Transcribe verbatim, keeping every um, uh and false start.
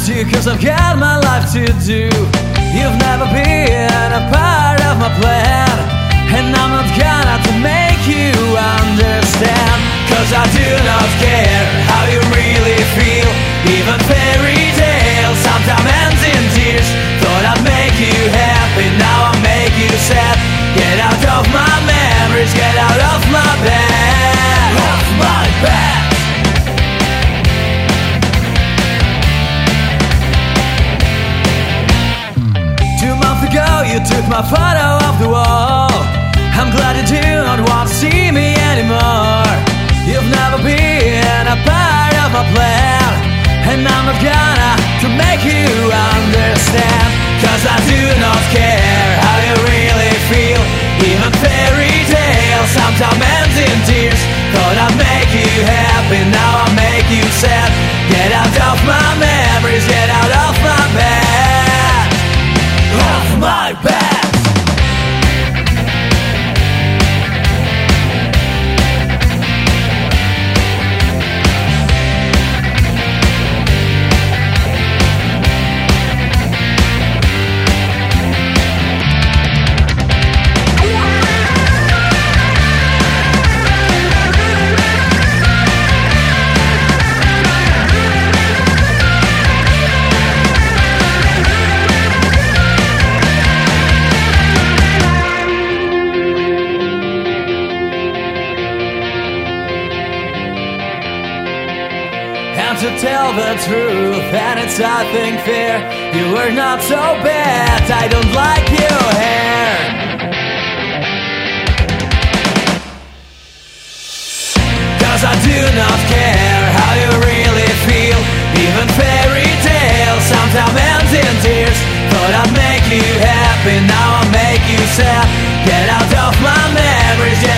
you cause I've got my life to do. You've never been a part of my plan, and I'm not gonna to make you understand. Cause I do not care how you really feel. Even fairy tales sometimes ends in tears. Thought I'd make you happy, now I'll make you sad. Get out of my memories, get out of my bed. Off my bed. Two months ago you took my photo off the wall. I'm glad you do not want to see me anymore. You've never been a part of my plan, and I'm not gonna to make you understand. Cause I do not care how you really feel. Even fairy tales sometimes ends in tears. Thought I'd make you happy, now I'll make you sad. Get out of my memories, get out of my bed. Off my bed. And to tell the truth, and it's I think fair, you were not so bad, I don't like your hair. Cause I do not care how you really feel. Even fairy tales sometimes ends in tears. Thought I'd make you happy, now I'll make you sad. Get out of my memories, yeah.